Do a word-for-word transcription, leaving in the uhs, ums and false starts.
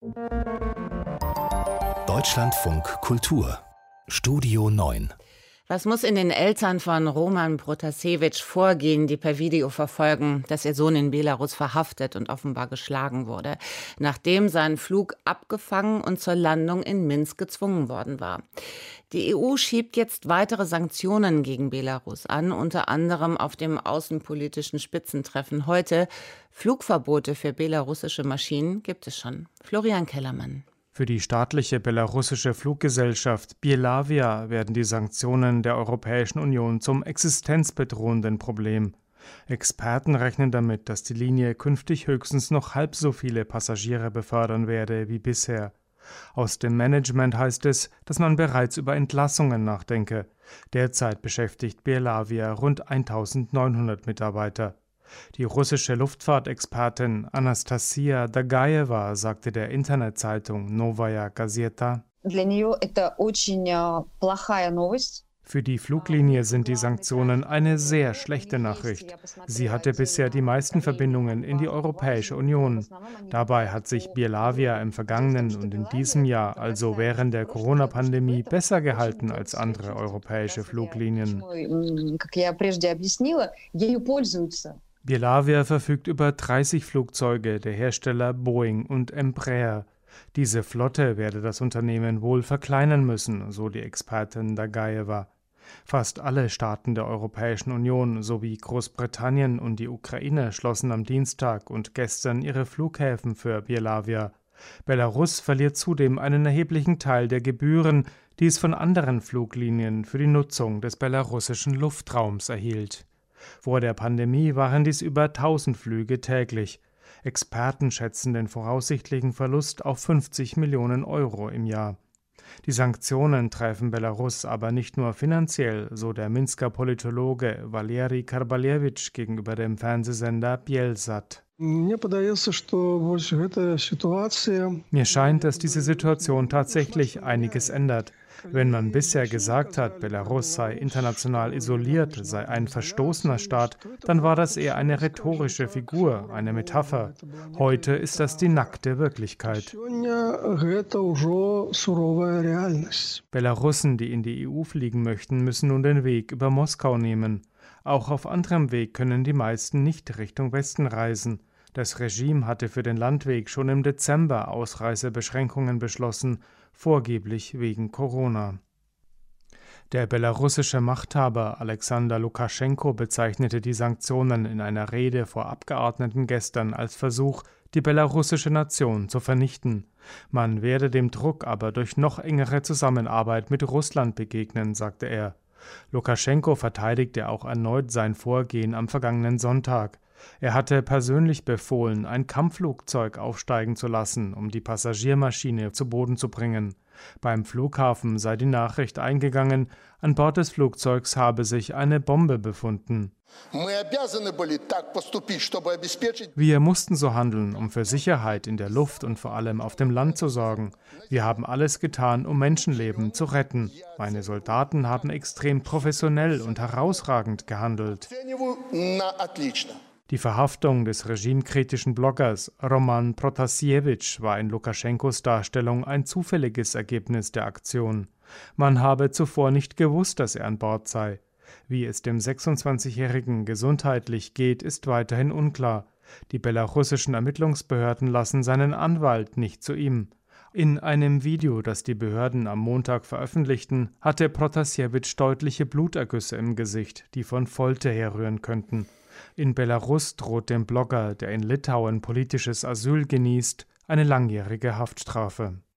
Deutschlandfunk Kultur Studio neun. Was muss in den Eltern von Roman Protasewitsch vorgehen, die per Video verfolgen, dass ihr Sohn in Belarus verhaftet und offenbar geschlagen wurde, nachdem sein Flug abgefangen und zur Landung in Minsk gezwungen worden war? Die E U schiebt jetzt weitere Sanktionen gegen Belarus an, unter anderem auf dem außenpolitischen Spitzentreffen heute. Flugverbote für belarussische Maschinen gibt es schon. Florian Kellermann. Für die staatliche belarussische Fluggesellschaft Belavia werden die Sanktionen der Europäischen Union zum existenzbedrohenden Problem. Experten rechnen damit, dass die Linie künftig höchstens noch halb so viele Passagiere befördern werde wie bisher. Aus dem Management heißt es, dass man bereits über Entlassungen nachdenke. Derzeit beschäftigt Belavia rund eintausendneunhundert Mitarbeiter. Die russische Luftfahrtexpertin Anastasia Dagajewa sagte der Internetzeitung Novaya Gazeta: Für die Fluglinie sind die Sanktionen eine sehr schlechte Nachricht. Sie hatte bisher die meisten Verbindungen in die Europäische Union. Dabei hat sich Belavia im vergangenen und in diesem Jahr, also während der Corona-Pandemie, besser gehalten als andere europäische Fluglinien. Belavia verfügt über dreißig Flugzeuge der Hersteller Boeing und Embraer. Diese Flotte werde das Unternehmen wohl verkleinern müssen, so die Expertin Dagajewa. Fast alle Staaten der Europäischen Union sowie Großbritannien und die Ukraine schlossen am Dienstag und gestern ihre Flughäfen für Belavia. Belarus verliert zudem einen erheblichen Teil der Gebühren, die es von anderen Fluglinien für die Nutzung des belarussischen Luftraums erhielt. Vor der Pandemie waren dies über tausend Flüge täglich. Experten schätzen den voraussichtlichen Verlust auf fünfzig Millionen Euro im Jahr. Die Sanktionen treffen Belarus aber nicht nur finanziell, so der Minsker Politologe Valeri Karbalewitsch gegenüber dem Fernsehsender Bielsat. Mir scheint, dass diese Situation tatsächlich einiges ändert. Wenn man bisher gesagt hat, Belarus sei international isoliert, sei ein verstoßener Staat, dann war das eher eine rhetorische Figur, eine Metapher. Heute ist das die nackte Wirklichkeit. Belarussen, die in die E U fliegen möchten, müssen nun den Weg über Moskau nehmen. Auch auf anderem Weg können die meisten nicht Richtung Westen reisen. Das Regime hatte für den Landweg schon im Dezember Ausreisebeschränkungen beschlossen, vorgeblich wegen Corona. Der belarussische Machthaber Alexander Lukaschenko bezeichnete die Sanktionen in einer Rede vor Abgeordneten gestern als Versuch, die belarussische Nation zu vernichten. Man werde dem Druck aber durch noch engere Zusammenarbeit mit Russland begegnen, sagte er. Lukaschenko verteidigte auch erneut sein Vorgehen am vergangenen Sonntag. Er hatte persönlich befohlen, ein Kampfflugzeug aufsteigen zu lassen, um die Passagiermaschine zu Boden zu bringen. Beim Flughafen sei die Nachricht eingegangen, an Bord des Flugzeugs habe sich eine Bombe befunden. Wir mussten so handeln, um für Sicherheit in der Luft und vor allem auf dem Land zu sorgen. Wir haben alles getan, um Menschenleben zu retten. Meine Soldaten haben extrem professionell und herausragend gehandelt. Die Verhaftung des regimekritischen Bloggers Roman Protasewitsch war in Lukaschenkos Darstellung ein zufälliges Ergebnis der Aktion. Man habe zuvor nicht gewusst, dass er an Bord sei. Wie es dem sechsundzwanzigjährigen gesundheitlich geht, ist weiterhin unklar. Die belarussischen Ermittlungsbehörden lassen seinen Anwalt nicht zu ihm. In einem Video, das die Behörden am Montag veröffentlichten, hatte Protasewitsch deutliche Blutergüsse im Gesicht, die von Folter herrühren könnten. In Belarus droht dem Blogger, der in Litauen politisches Asyl genießt, eine langjährige Haftstrafe.